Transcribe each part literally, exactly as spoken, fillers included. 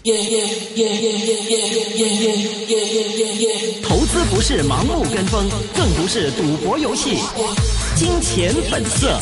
投資不是盲目跟風，更不是賭博遊戲。金錢本色。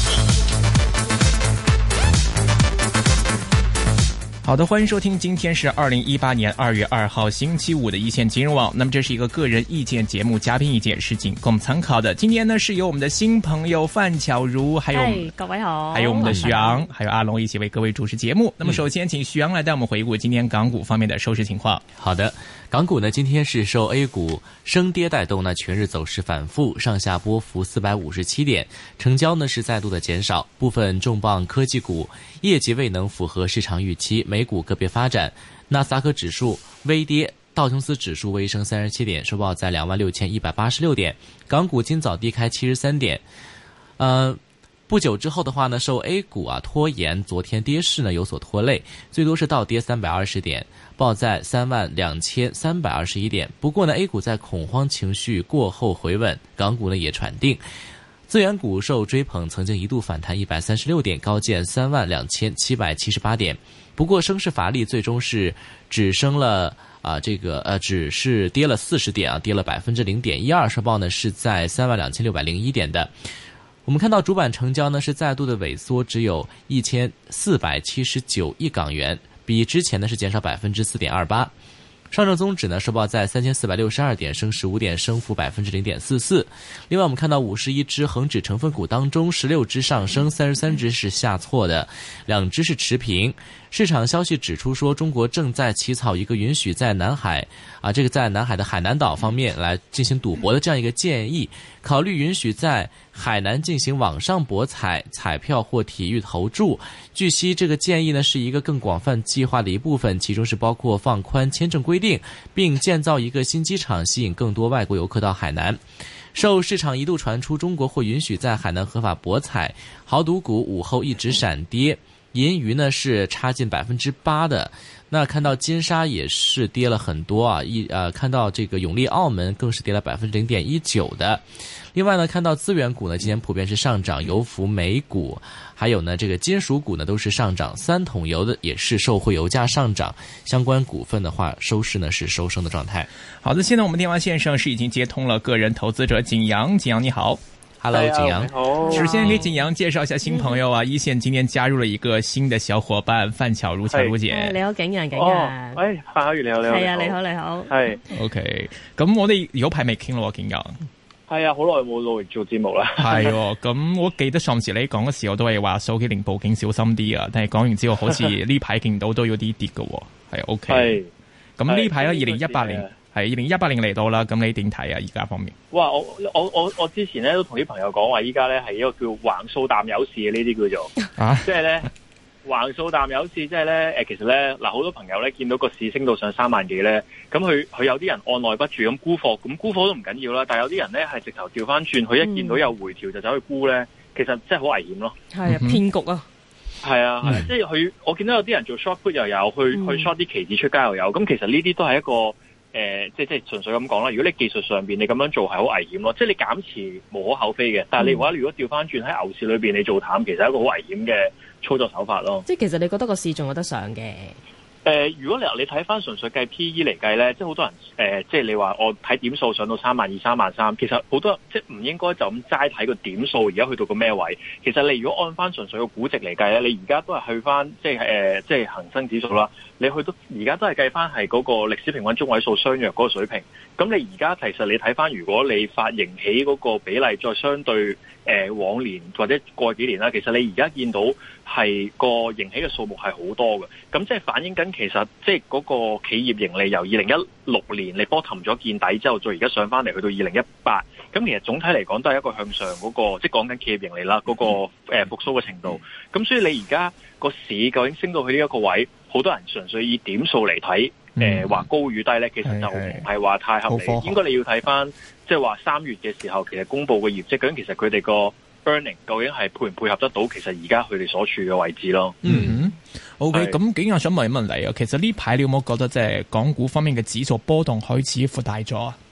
好的，歡迎收聽，今天是二零一八年二月二號星期五的一線金融網。那麼這是一個個人意見節目，嘉賓意見是僅供參考的。今天呢是由我們的新朋友范巧如，還有、hey, 各位好，還有我們的徐昂，還有阿龍一起為各位主持節目。那麼首先請徐昂來帶我們回顧今天港股方面的收市情況。 好的，港股呢今天是受 A 股升跌帶動，呢全日走勢反覆，上下波幅四百五十七點，成交呢是再度的減少，部分重磅科技股業績未能符合市場預期，美股個別發展，納斯達克指數微跌，道瓊斯指數微升三十七點，收報在兩萬六千一百八十六點，港股今早低開七十三點。呃，不久之後的話呢，受 A 股啊拖延，昨天跌勢呢有所拖累，最多是倒跌三百二十點，報在三萬兩千三百二十一點。不過呢 ，A 股在恐慌情緒過後回穩，港股呢也喘定。資源股受追捧，曾經一度反彈一百三十六點，高見三萬兩千七百七十八點。不過聲勢乏力，最終是只升了啊、呃，這個呃，只是跌了四十點啊，跌了百分之零點一二，收報呢是在三萬兩千六百零一點的。我們看到主板成交呢是再度的萎縮，只有一千四百七十九億港元，比之前呢是減少百分之四點二八。上證綜指呢收報在三千四百六十二點，升十五點，升幅百分之零點四四。另外，我們看到五十一隻恒指成分股當中，十六隻上升，三十三隻是下挫的，兩隻是持平。市場消息指出說，中國正在起草一個允許在南海啊，這個在南海的海南島方面來進行賭博的這樣一個建議，考慮允許在海南進行網上博彩、彩票或體育投注。據悉，這個建議呢是一個更廣泛計劃的一部分，其中是包括放寬簽證規定，並建造一個新機場，吸引更多外國遊客到海南。受市場一度傳出中國會允許在海南合法博彩，豪賭股午後一直閃跌。銀娛呢是差近百分之八的，那看到金沙也是跌了很多啊，一呃看到這個永利澳門更是跌了百分之零點一九的。另外呢，看到資源股呢今天普遍是上漲，油服、美股，還有呢這個金屬股呢都是上漲，三桶油的也是受惠油價上漲，相關股份的話收市呢是收升的狀態。 好的，現在我們電話線上是已經接通了個人投資者景陽，景陽你好。 Hello， 景陽。 好。 首先給景陽介紹一下新朋友啊，一線今天加入了一個新的小伙伴范巧如，巧如姐。 你好，景陽，景陽。 喂，范巧如你好，你好。 係啊，你好，你好。 係。 OK，咁我哋有排未傾咯，景陽。 係啊，好耐冇努力做節目啦。 係喎，咁我記得上次你講嘅時候都係話手機零部件小心啲啊，但係講完之後好似呢排見到都有啲跌嘅喎，係 OK。係。咁呢排咧，二零一八年。係二零一八年嚟到啦，咁你點睇啊？而家方面， 哇！我我我我之前咧都同啲朋友講話，依家咧係一個叫橫掃淡友市嘅呢啲叫做，啊、即係咧橫掃淡友市，即係咧誒，其實咧嗱，好多朋友咧見到個市升到上三萬幾咧，咁佢佢有啲人按捺不住咁沽貨，咁沽貨都唔緊要啦，但係有啲人咧係直頭調翻轉，佢一見到有回調就走去沽咧，其實真係好危險咯。 係啊，騙局啊！ 係啊，係、嗯，即係佢我見到有啲人做 short put 又有，去、嗯、去 short 啲期指出街又有，咁其實呢啲都係一個。誒、呃，即係即係純粹咁講啦。如果你技術上邊你咁樣做係好危險咯，即係你減持無可厚非嘅。但係你話如果調翻轉喺牛市裏邊你做淡，其實係一個好危險嘅操作手法咯。 即係其實你覺得個市仲有得上嘅？ 誒、呃，如果你你睇翻純粹計 P E 嚟計咧，即係好多人誒、呃，即係你話我睇點數上到三萬二、三萬三，其實好多即係唔應該就咁齋睇個點數，而家去到個咩位？其實你如果按翻純粹個估值嚟計咧，你而家都係去翻即係誒、呃，即係恒生指數啦。你去到而家都係計翻係嗰個歷史平均中位數相若嗰個水平。咁你而家其實你睇翻，如果你發盈喜嗰個比例再相對誒、呃、往年或者過幾年啦，其實你而家見到係個盈喜嘅數目係好多嘅。咁即係反映緊其實即係嗰個企業盈利由二零一六年你 bottom 咗見底之後，再而家上翻嚟去到二零一八，咁其實總體嚟講都係一個向上嗰、那個，即係講緊企業盈利啦嗰、那個誒、呃、復甦嘅程度。咁所以你而家個市究竟升到去呢一個位，好多人純粹以點數嚟睇，誒話、呃、高與低咧，其實就唔係話太合理。應該你要睇翻，即係話三月嘅時候，其實公布嘅業績，究竟其實佢哋個 earning 究竟係配唔配合得到，其實而家佢哋所處嘅位置咯。 嗯 ，OK，咁景陽想問一問你啊，其實呢排你有冇覺得即係港股方面嘅指數波動開始擴大咗啊？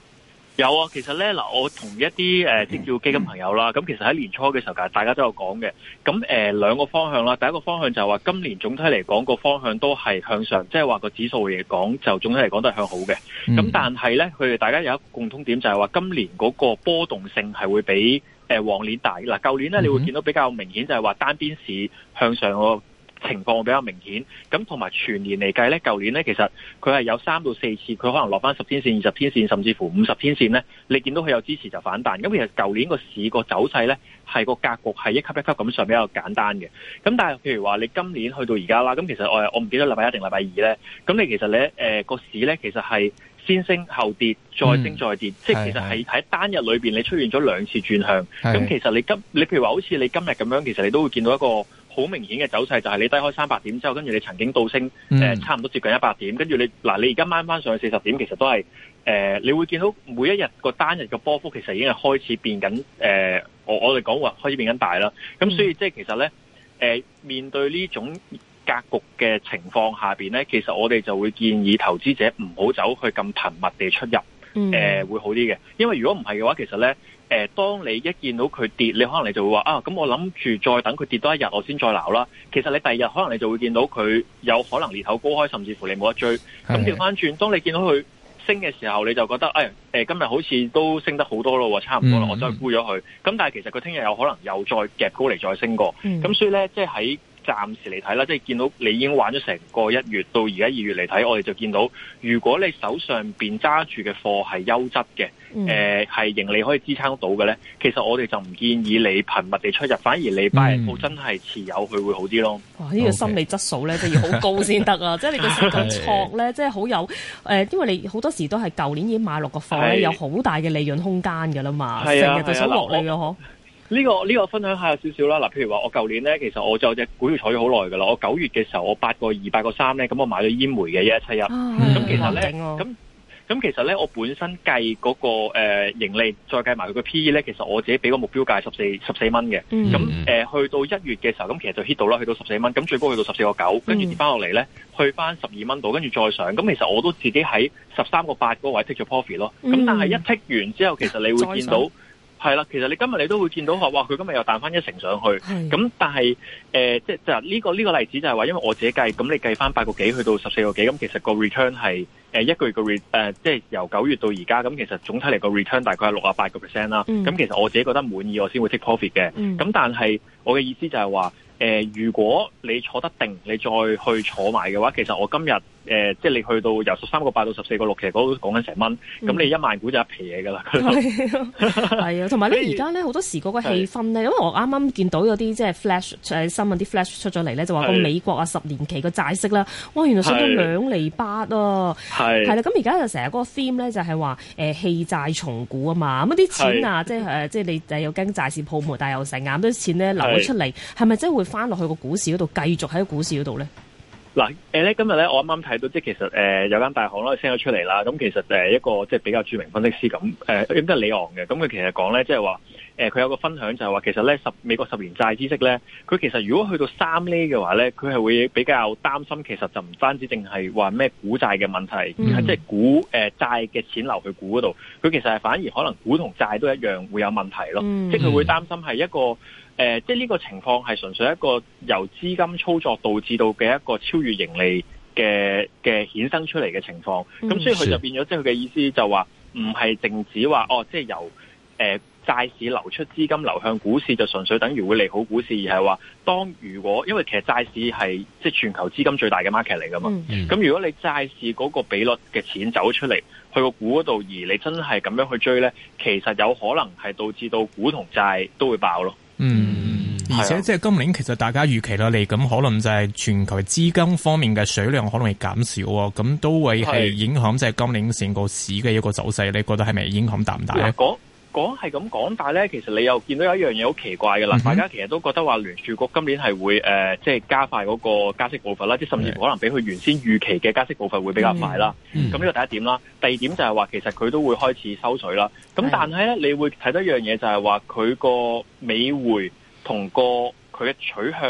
有啊，其實咧嗱，我同一啲誒即叫基金朋友啦，咁其實喺年初嘅時候，大家都有講嘅。咁誒兩個方向啦，第一個方向就係話今年總體嚟講個方向都係向上，即係話個指數嚟講就總體嚟講都係向好嘅。咁、嗯、但係咧，佢哋大家有一個共通點就係話今年嗰個波動性係會比誒往年大。嗱，舊年咧你會見到比較明顯就係話單邊市向上個情況比較明顯，咁同埋全年嚟計咧，舊年咧其實佢係有三到四次，佢可能落翻十天線、二十天線，甚至乎五十天線咧，你見到佢有支持就反彈。咁其實舊年個市個走勢咧，係個格局係一級一級咁上比較簡單嘅。咁但係譬如話你今年去到而家啦，咁其實我我唔記得禮拜一定禮拜二咧，咁你其實咧誒個市咧其實係先升後跌，再升再跌，嗯、即係其實係喺單日裏邊你出現咗兩次轉向。咁其實你今你譬如話好似你今日咁樣，其實你都會見到一個好明顯嘅走勢，就係你低開三百點之後，跟住你曾經倒升誒、嗯呃、差唔多接近一百點，跟住你嗱你而家掹翻上去四十點，其實都係誒、呃、你會見到每一日個單日嘅波幅其實已經係開始變緊誒、呃，我我哋講話開始變緊大啦。咁所以即係其實咧誒、呃、面對呢種格局嘅情況下邊咧，其實我哋就會建議投資者唔好走去咁頻密地出入，誒、嗯呃、會好啲嘅。因為如果唔係嘅話，其實咧。誒、呃，當你一見到佢跌，你可能你就會話啊，咁我諗住再等佢跌多一日，我先再撈啦。其實你第二日可能你就會見到佢有可能裂口高開，甚至乎你冇得追。咁調翻轉，當你見到佢升嘅時候，你就覺得誒誒、哎，今日好似都升得好多咯，差唔多啦，我再沽咗佢。咁但係其實佢聽日有可能又再夾高嚟再升過。咁、嗯、所以咧，即係喺暫時嚟睇啦，即係見到你已經玩咗成個一月到而家二月嚟睇，我哋就見到，如果你手上邊揸住嘅貨係優質嘅，誒、嗯、係、呃、盈利可以支撐到嘅咧，其實我哋就唔建議你頻密地出入，反而你拜日真係持有佢會好啲咯。 哇！呢、這個心理質素咧，真係要好高先得啊！即係你個時間錯咧，即係好有誒、呃，因為你好多時都係舊年已經買落個貨咧，有好大嘅利潤空間㗎啦嘛，成日就想落嚟嘅嗬。 呢、這個呢、這個分享下有少少啦，嗱，譬如話我舊年咧，其實我就有隻股票坐咗好耐噶啦，我九月嘅時候我八個二、八個三咧，咁我買咗煙煤嘅一一七一，咁其實咧，咁咁其實咧，我本身計嗰、那個誒、呃、盈利，再計埋佢個 P E 咧，其實我自己俾個目標價十四十四蚊嘅，咁、嗯、誒、呃、去到一月嘅時候，咁其實就 hit 到啦，去到十四蚊，咁最高去到十四個九，跟住跌翻落嚟咧，去翻十二蚊度，跟住再上，咁其實我都自己喺十三個八嗰個位 take 咗 profit 咯，咁、嗯、但係一 take 完之後，其實你會見到。係啦，其實你今日你都會見到話，哇！佢今日又彈翻一成上去，咁但係誒、呃，即係就呢、這個呢、這個例子就係話，因為我自己計，咁你計翻八個幾去到十四個幾，咁其實個 return 係誒一個月個 re 誒、呃，即係由九月到而家，咁其實總體嚟個 return 大概係六啊八個 percent 啦。咁、嗯、其實我自己覺得滿意，我先會 take profit 嘅。咁、嗯、但係我嘅意思就係話，誒、呃，如果你坐得定，你再去坐埋嘅話，其實我今日。誒、呃，即係你去到由十三個八到十四個六，其實嗰都講緊成蚊，咁、嗯、你一萬股就一皮嘢噶啦。係啊，同埋咧，而家咧好多時嗰個氣氛咧，因為我啱啱見到有啲即係 flash 誒新聞啲 flash 出咗嚟咧，就話個美國啊十年期個債息啦，哇，原來上到兩厘八啊，係係啦，咁而家就成日嗰個 theme 咧就係話誒棄債重估啊嘛，咁啲錢啊，即係誒即係你誒又驚債市泡沫，但係又成眼啲錢咧流咗出嚟，係咪真係會翻落去個股市嗰度，繼續喺個股市嗰度咧？嗱，誒咧今日咧，我啱啱睇到，即係其實誒、呃、有間大行咧 send 咗出嚟啦。咁其實誒一個即係比較著名分析師咁，誒、呃、應該係李昂嘅。咁佢其實講咧，即係話誒佢有個分享就係話，其實咧十美國十年債孳息咧，佢其實如果去到三厘嘅話咧，佢係會比較擔心。其實就唔單止淨係話咩股債嘅問題，嗯、而係即係股誒債嘅錢流去股嗰度，佢其實係反而可能股同債都一樣會有問題咯。嗯、即係佢會擔心係一個。誒、呃，即係呢個情況係純粹一個由資金操作導致到嘅一個超越盈利嘅嘅衍生出嚟嘅情況。咁、嗯、所以佢就變咗，即係佢嘅意思就話唔係淨止話哦，即係由誒、呃、債市流出資金流向股市，就純粹等於會利好股市，而係話當如果因為其實債市係即係全球資金最大嘅 market 嚟噶嘛。咁、嗯、如果你債市嗰個比率嘅錢走出嚟去個股嗰度，而你真係咁樣去追咧，其實有可能係導致到股同債都會爆咯。 嗯，而且即係今年其實大家預期啦，嚟咁可能就係全球資金方面嘅水量可能會減少啊，咁都會係影響即係今年成個市嘅一個走勢。你覺得係咪影響大唔大咧？ 講講係咁講，但係咧，其實你又見到有一樣嘢好奇怪嘅啦、嗯，大家其實都覺得話聯儲局今年係會誒，即、呃、係、就是、加快嗰個加息步伐啦，即係甚至乎可能比佢原先預期嘅加息步伐會比較快啦。咁、嗯、呢個第一點啦，第二點就係話其實佢都會開始收水啦。咁但係咧，你會睇到一樣嘢就係話佢個美匯同個佢嘅取向咧，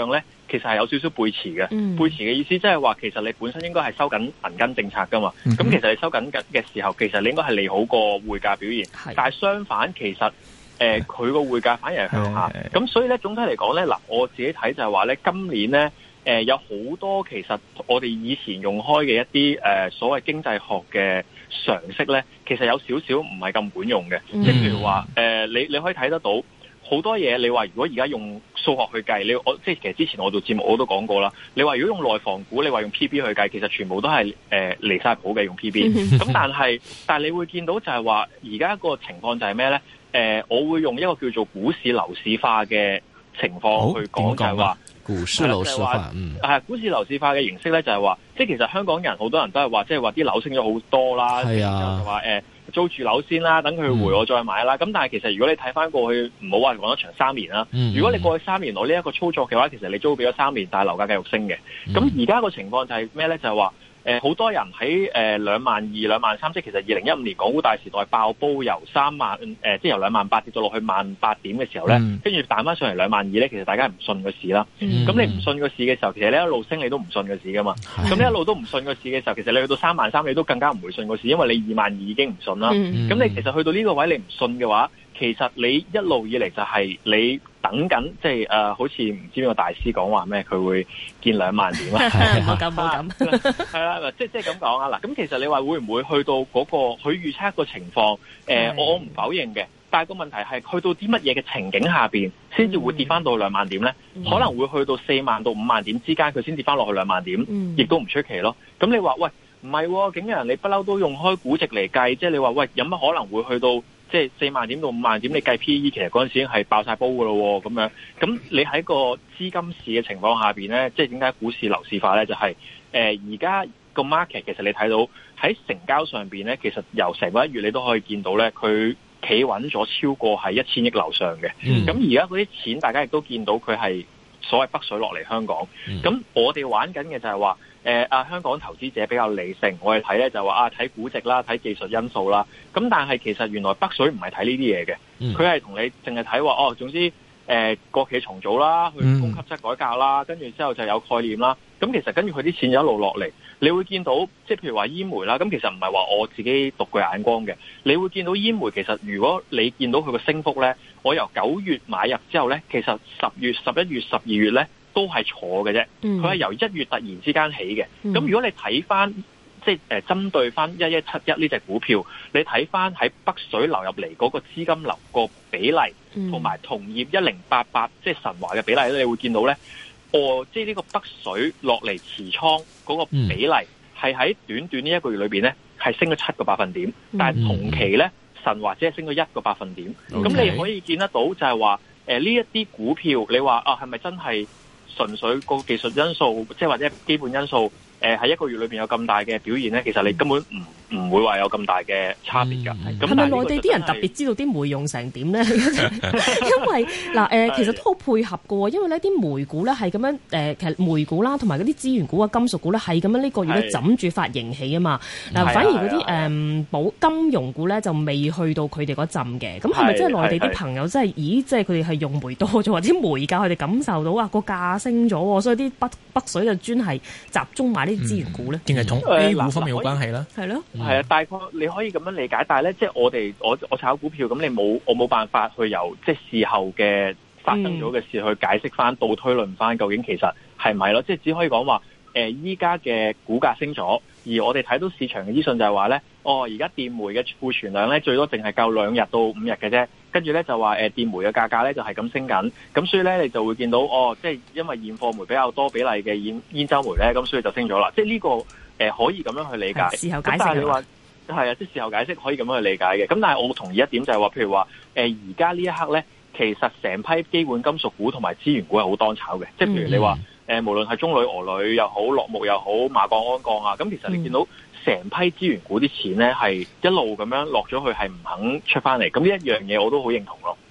其實係有少少背馳嘅。 嗯、 背馳嘅意思即係話，其實你本身應該係收緊銀根政策噶嘛。咁、嗯、其實你收緊緊嘅時候，其實你應該係利好個匯價表現。是但係相反，其實誒佢個匯價反而係向下。咁所以咧，總體嚟講咧，嗱我自己睇就係話咧，今年咧誒、呃、有好多其實我哋以前用開嘅一啲誒、呃、所謂經濟學嘅常識咧，其實有少少唔係咁管用嘅。即係、嗯、譬如話誒、呃，你你可以睇得到。好多嘢，你話如果而家用數學去計，你我即係其實之前我做節目我都講過啦。你話如果用內房股，你話用 P B 去計，其實全部都係誒離晒譜嘅用 P B。咁但係但係你會見到就係話，而家個情況就係咩咧？誒、呃，我會用一個叫做股市樓市化嘅情況去講，就係話股市樓市化，嗯， 係股市樓市化嘅形式咧，就係話，即係其實香港人好多人都係話，即係話啲樓升咗好多啦， 係啊， 然後就話誒。租住樓先啦，等佢回我再買啦。咁、嗯、但係其實如果你睇翻過去，唔好話講得長三年啦。嗯、如果你過去三年攞呢一個操作嘅話，其實你租俾咗三年，但係樓價繼續升嘅。咁而家個情況就係咩咧？就係話誒好多人喺誒兩萬二、兩萬三，即係其實二零一五年港股大時代爆煲，由三萬誒、呃、即係由兩萬八跌到落去萬八點嘅時候咧，跟住彈翻上嚟兩萬二咧，其實大家唔信個市啦。咁、嗯、你唔信個市嘅時候，其實你一路升你都唔信個市噶嘛。咁你一路都唔信個市嘅時候，其實你去到三萬三，你都更加唔會信個市，因為你二萬二已經唔信啦。咁、嗯、你其實去到呢個位你唔信嘅話，其實你一路以嚟就係你等緊，即係誒，好似唔知邊個大師講話咩，佢會見兩萬點啊？ 唔好咁，唔好咁， 係啦，即係即係咁講啊！嗱，咁其實你話會唔會去到嗰、那個佢預測個情況？誒、呃，我唔否認嘅，但係個問題係去到啲乜嘢嘅情景下邊，先至會跌翻到兩萬點咧？嗯、可能會去到四萬到五萬點之間，佢先跌翻落去兩萬點，亦、嗯、都唔出奇咯。咁你話喂，唔係，景羊你不嬲都用開估值嚟計，即係你話喂，有乜可能會去到？即係四萬點到五萬點，你計 P E 其實嗰陣時已經係爆晒煲噶咯，咁樣。咁你喺個資金市嘅情況下邊咧，即係點解股市樓市化咧？就係誒而家個 market 其實你睇到喺成交上邊咧，其實由成個一月你都可以見到咧，佢企穩咗超過係一千億樓上嘅。咁而家嗰啲錢，大家亦都見到佢係所謂北水落嚟香港。咁、嗯、我哋玩緊嘅就係話。誒啊、呃！香港投資者比較理性，我哋睇咧就話啊，睇估值啦，睇技術因素啦。咁但係其實原來北水唔係睇呢啲嘢嘅，佢係同你淨係睇話哦，總之誒、呃、國企重組啦，去供給側改革啦，跟住之後就有概念啦。咁其實跟住佢啲錢一路落嚟，你會見到即係譬如話煙煤啦。咁其實唔係話我自己獨具眼光嘅，你會見到煙煤其實如果你見到佢個升幅咧，我由九月買入之後咧，其實十月、十一月、十二月咧。都係錯嘅啫，佢係由一月突然之間起嘅。咁、嗯、如果你睇翻，即係誒針對翻一一七一呢隻股票，你睇翻喺北水流入嚟嗰個資金流個比例，同埋、嗯、同業一零八八即係神華嘅比例咧，你會見到咧，哦，即係呢個北水落嚟持倉嗰個比例係喺短短呢一個月裏邊咧，係升咗七個百分點，嗯、但係同期咧神華只係升咗一個百分點。咁、嗯、你可以見得到就係話，誒呢一啲股票，你話啊係咪真係？純粹個技術因素，即係或者基本因素，誒、呃、喺一個月裏邊有咁大嘅表現咧，其實你根本唔唔會話有咁大嘅差別㗎。咁係咪內地啲人特別知道啲煤用成點咧？因為嗱誒、呃，其實都好配合㗎喎，因為呢啲煤股咧係咁樣誒、呃，其實煤股啦同埋嗰啲資源股啊、金屬股咧係咁樣呢個月咧枕住發盈喜啊嘛。嗱，反而嗰啲誒保金融股咧就未去到佢哋嗰陣嘅。咁係咪即係內地啲朋友真係？咦，即係佢哋係用煤多咗，或者煤價佢哋感受到啊個價升咗，所以啲北北水就專係集中買呢啲資源股咧。定係同 A 股方面有關係啦？係咯， 係啊，大概你可以咁樣理解，但係咧，即係我哋我我炒股票咁，你冇我冇辦法去由即係事後嘅發生咗嘅事去解釋翻，倒推論翻究竟其實係咪咯？即係只可以講話誒，依家嘅股價升咗，而我哋睇到市場嘅資訊就係話咧，哦，而家電煤嘅庫存量咧最多淨係夠兩日到五日嘅啫，跟住咧就話誒電煤嘅價格咧就係咁升緊，咁所以咧你就會見到哦，即係因為現貨煤比較多比例嘅煙煙州煤咧，咁所以就升咗啦。即係呢個誒可以咁樣去理解。 事後解釋。 但係你話係啊，即係事後解釋可以咁樣去理解嘅。咁但係我同意一點就係話，譬如話誒而家呢一刻咧，其實成批基本金屬股同埋資源股係好當炒嘅。即係譬如你話誒、呃，無論係中鋁、俄鋁又好，洛鉬又好，馬鋼、鞍鋼啊，咁其實你見到成批資源股啲錢咧係一路咁樣落咗去，係唔肯出翻嚟。咁呢一樣嘢我都好認同咯。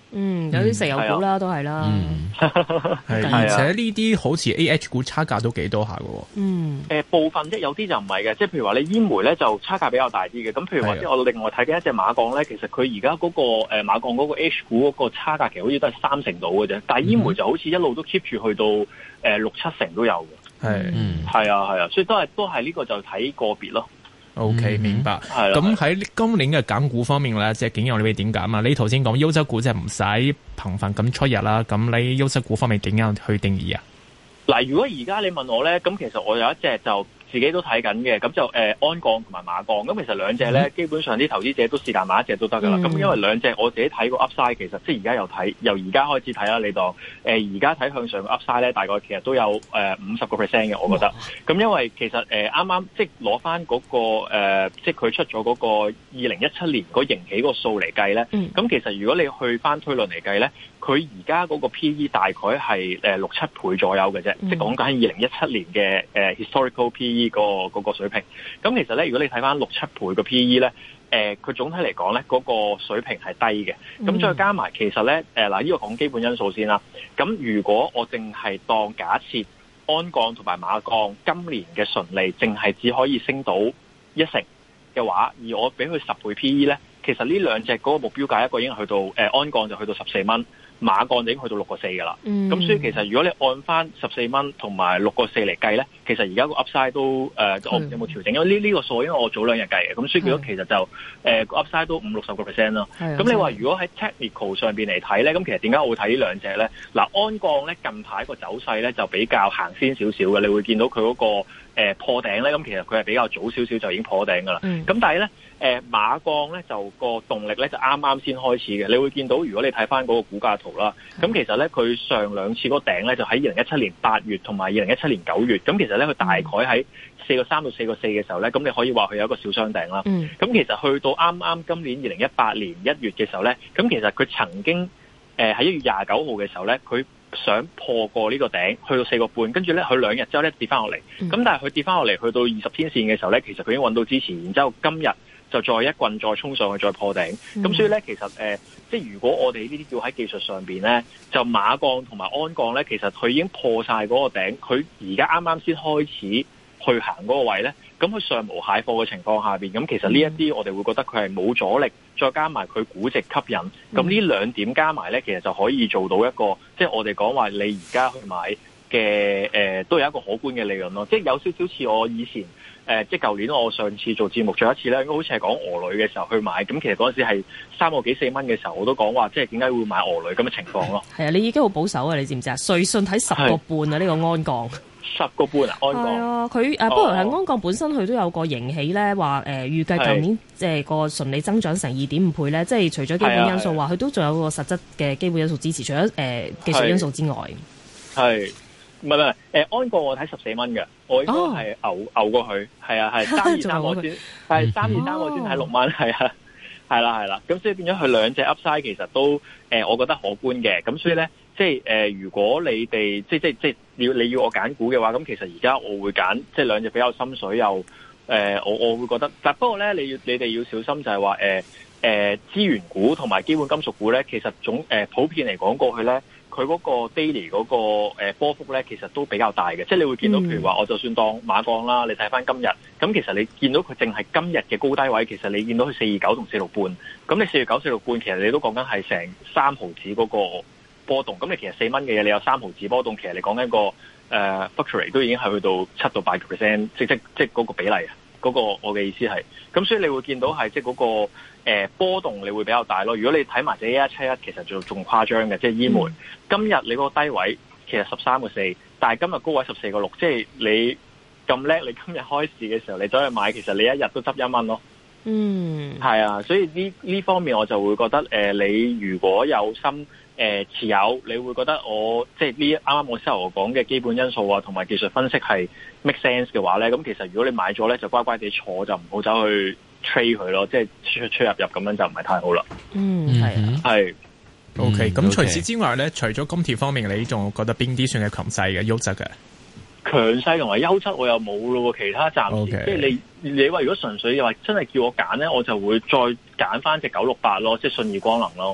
嗯，有啲石油股啦，嗯、都係啦。 嗯，係而且呢啲好似 A H 股差價都幾多下嘅。嗯， 誒、呃、部分即係有啲就唔係嘅，即係譬如話你煙煤咧就差價比較大啲嘅。咁譬如話即係我另外睇緊一隻馬鋼咧，其實佢而家嗰個誒、呃、馬鋼嗰個 H 股嗰個差價其實好似都係三成到嘅啫，但係煙煤就好似一路都 keep 住去到誒、呃、六七成都有嘅。係，嗯，係啊係啊，所以都係都係呢個就睇個別咯。 O、okay, K， 明白。係咁喺今年嘅揀股方面咧，即係景陽你會點揀啊？你頭先講優質股即係唔使頻繁咁出日啦，咁你優質股方面點樣去定義啊？ 嗱，如果而家你問我咧，咁其實我有一隻就自己都睇緊嘅，咁就誒、呃、鞍鋼同埋馬鋼，咁其實兩隻咧、嗯、基本上啲投資者都是但買一隻都得噶啦。咁、嗯、因為兩隻我自己睇個 Upside 其實即係而家又睇，由而家開始睇啦。你當誒而家睇向上個 Upside 咧，大概其實都有誒五十個 percent 嘅，我覺得。咁因為其實誒啱啱即係攞翻嗰個、呃、即係佢出咗嗰個二零一七年嗰盈喜個數嚟計咧，咁、嗯、其實如果你去翻推論嚟計咧，佢而家嗰個 P E 大概係誒六七倍左右嘅啫、嗯，即係講緊係二零一七年嘅誒、呃、historical P E 個嗰個水平。咁其實咧，如果你睇翻六七倍個 P E 咧，誒、呃、佢總體嚟講咧，嗰、那個水平係低嘅。咁、嗯、再加埋其實咧，誒嗱呢個講基本因素先啦。咁如果我淨係當假設鞍鋼同埋馬鋼今年嘅純利淨係只可以升到一成嘅話，而我俾佢十倍 P E 咧，其實呢兩隻嗰個目標價一個已經去到誒鞍鋼就去到十四蚊。馬鋼就已經去到六個四㗎啦，咁、嗯、所以其實如果你按翻十四蚊同埋六個四嚟計咧，其實而家個 Upside 都誒、呃，我唔知有冇調整，因為呢呢個數因為我早兩日計嘅，咁所以如果其實就誒個、呃、Upside 都五六十個 percent 啦。咁你話如果喺 Technical 上邊嚟睇咧，咁其實點解我會睇呢兩隻咧？嗱，鞍鋼咧近排個走勢咧就比較行先少少嘅，你會見到佢嗰、那個、呃、破頂咧，咁其實佢係比較早少少就已經破頂㗎啦。咁、嗯、但係咧。誒、呃、馬鋼咧就個動力咧就啱啱先開始嘅，你會見到如果你睇翻嗰個股價圖啦，咁其實咧佢上兩次嗰個頂咧就喺二零一七年八月同埋二零一七年九月，咁其實咧佢大概喺四個三到四個四嘅時候咧，咁你可以話佢有一個小雙頂啦。咁、嗯、其實去到啱啱今年二零一八年一月嘅時候咧，咁其實佢曾經誒喺一月廿九號嘅時候咧，佢想破過呢個頂，去到四個半，跟住咧佢兩日之後咧跌翻落嚟，咁、嗯、但係佢跌翻落嚟去到二十天線嘅時候咧，其實佢已經揾到支持，然之後今日就再一棍再衝上去再破頂，咁、嗯、所以咧其實誒、呃，即係如果我哋呢啲叫喺技術上邊咧，就馬鋼同埋鞍鋼咧，其實佢已經破晒嗰個頂，佢而家啱啱先開始去行嗰個位咧，咁佢上無蟹貨嘅情況下邊，咁其實呢一啲我哋會覺得佢係冇阻力，再加埋佢估值吸引，咁呢兩點加埋咧，其實就可以做到一個，即係我哋講話你而家去買嘅誒、呃，都有一個可觀嘅利潤咯，即係有少少似我以前。誒、呃，即係舊年我上次做節目最後一次咧，應該好似係講鵝女嘅時候去買，咁其實嗰陣時係三個幾四蚊嘅時候，我都講話即係點解會買鵝女咁嘅情況咯。係啊，你已經好保守啊，你知唔知啊？瑞信睇十個半啊，呢、這個鞍鋼十個半啊，鞍鋼係啊，佢誒、哦、不過係鞍鋼本身佢都有個盈喜咧，話誒、呃、預計舊年即係個純利增長成二點五倍咧，即係除咗基本因素話，佢都仲有個實質嘅基本因素支持，除咗誒、呃、技術因素之外，係。唔係唔係，誒鞍鋼我睇十四蚊嘅，我應該係牛、哦、牛過去，係啊係三二三我先，係三二三我先睇六蚊，係啊係啦係啦，咁所以變咗佢兩隻 Upside 其實都誒、呃，我覺得可觀嘅，咁所以咧即係誒、呃，如果你哋即即即要你要我揀股嘅話，咁其實而家我會揀即係兩隻比較深水又誒、呃，我我會覺得，但不過咧你要你哋要小心就係話誒誒資源股同埋基本金屬股咧，其實總誒、呃、普遍嚟講過去咧。佢嗰個 daily 嗰個誒波幅咧，其實都比較大嘅，即係你會見到，譬如話，我就算當馬鋼啦，你睇翻今日，咁其實你見到佢淨係今日嘅高低位，其實你見到佢四二九同四六半，咁你四二九四六半，其實你都講緊係成三毫子嗰個波動，咁你其實四蚊嘅嘢，你有三毫子波動，其實你講緊個誒 fluctuate 都已經係去到七到八個 percent，即即即嗰個比例啊，嗰、嗰個我嘅意思係，咁所以你會見到係即係嗰個。誒、呃、波動你會比較大咯。如果你睇埋隻一一七一，其實就仲誇張嘅，即係煙煤。嗯、今日你嗰個低位其實十三個四，但係今日高位十四個六，即係你咁叻，你今日開市嘅時候你走去買，其實你一日都執一蚊咯。嗯，係啊，所以呢呢方面我就會覺得誒、呃，你如果有心誒、呃、持有，你會覺得我即係呢啱啱我先頭講嘅基本因素啊，同埋技術分析係 make sense 嘅話咧，咁其實如果你買咗咧，就乖乖地坐，就唔好走去。吹佢咯，即係出出入入咁樣就唔係太好啦。嗯，係啊，係。 O K，咁除此之外咧，除咗金鐵方面，你仲覺得邊啲算係強勢嘅、優質嘅？ 強勢同埋優質我又冇咯，其他暫時。Okay. 即係你你話如果純粹又話真係叫我揀咧，我就會再揀翻隻九六八咯，即係信義光能咯。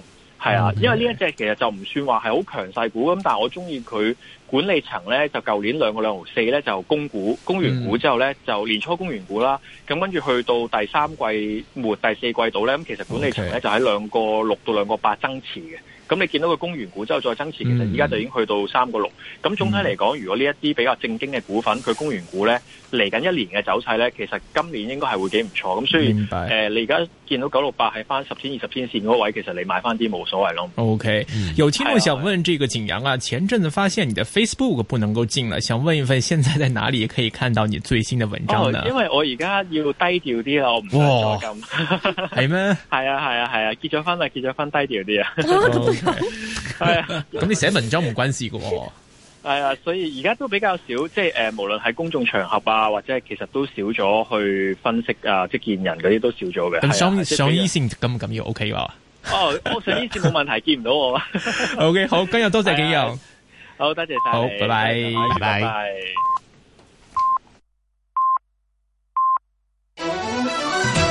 係啊，因為呢一隻其實就唔算話係好強勢股咁，但係我中意佢管理層咧，就舊年兩個兩毫四咧就供股，供完股之後咧就年初供完股啦，咁跟住去到第三季末第四季度咧，咁其實管理層咧就喺兩個六到兩個八增持嘅。咁你見到佢供完股之後再增持，其實而家就已經去到三個六。咁總體嚟講，如果呢一啲比較正經嘅股份，佢供完股咧，嚟緊一年嘅走勢咧，其實今年應該係會幾唔錯。咁所以誒、呃，你而家見到九六八喺翻十天、二十天線嗰位，其實你買翻啲冇所謂咯。 OK，有聽眾想問這個景陽啊，前陣子發現你的 Facebook 不能夠進了，想問一問，現在在哪裡可以看到你最新的文章呢？ 哦、因為我而家要低調啲啦，我唔想再咁。係咩？係啊係啊係啊，結咗婚啦，結咗婚低調啲啊。係啊， 咁你寫文章冇關係噶喎。 係啊，所以而家都比較少，即係誒，無論係公眾場合啊，或者係其實都少咗去分析啊，即係見人嗰啲都少咗嘅。 咁上上醫線咁唔緊要 OK 㗎？ 哦，我上醫線冇問題，見唔到我。 OK，好，今日多謝景陽， 好，多謝晒， 好，拜拜， 拜拜。 拜拜。